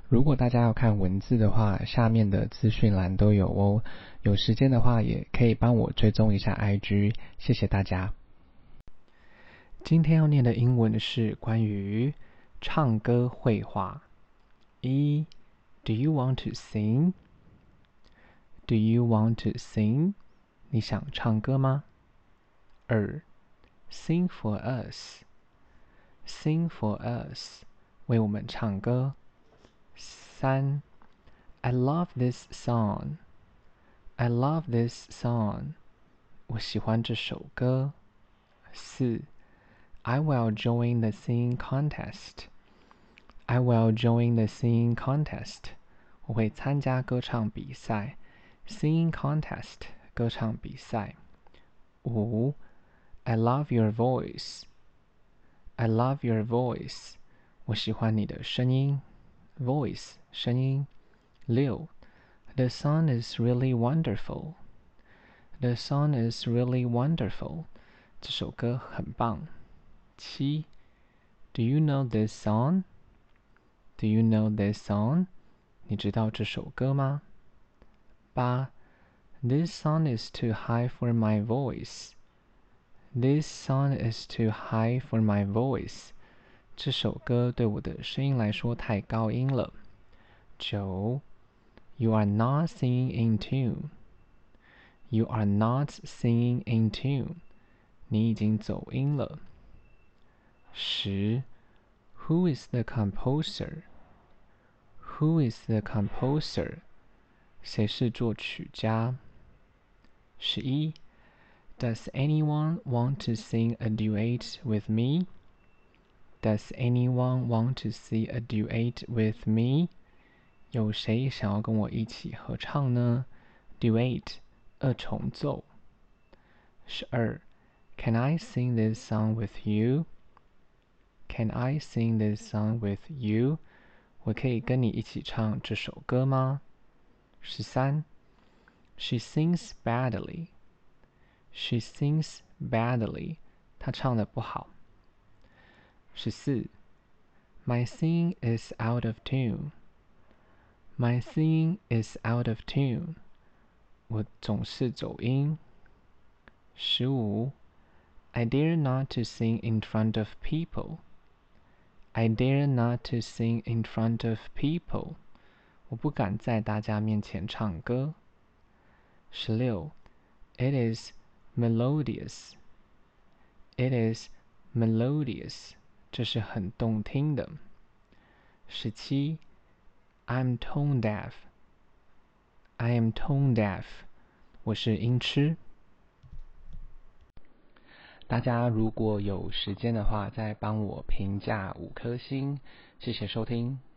如果大家要看文字的話，下面的資訊欄都有哦。有時間的話，也可以幫我追蹤一下 IG， 謝謝大家。今天要念的英文是關於唱歌會話。1. Do you want to sing? Do you want to sing? 你想唱歌嗎？2. Sing for us. Sing for us. 為我們唱歌。3. I love this song. I love this song. 我喜歡這首歌。4. I will join the singing contest. I will join the singing contest. 我會參加歌唱比賽。Singing contest, 歌唱比賽。5. I love your voice. I love your voice. 我喜歡你的聲音。Voice, 聲音。6. The song is really wonderful. The song is really wonderful. 這首歌很棒。7. Do you know this song? Do you know this song? 你知道這首歌嗎？8. This song is too high for my voice. This song is too high for my voice. 這首歌對我的聲音來說太高音了。9. You are not singing in tune. You are not singing in tune. 你已經走音了。10. Who is the composer? Who is the composer? 誰是作曲家？11. Does anyone want to sing a duet with me? Does anyone want to sing a duet with me? 有誰想要跟我一起合唱呢？ Duet, 二重奏。12. Can I sing this song with you? Can I sing this song with you? 我可以跟你一起唱這首歌嗎？13. She sings badly. She sings badly. 她唱得不好。14. My singing is out of tune. My singing is out of tune. 我總是走音。15. I dare not to sing in front of people. I dare not to sing in front of people. 我不敢在大家面前唱歌。16. It is melodious. It is melodious. 這是很動聽的。17. I'm tone deaf. I am tone deaf. 我是音痴。大家如果有時間的話，再幫我評價5顆星，謝謝收聽。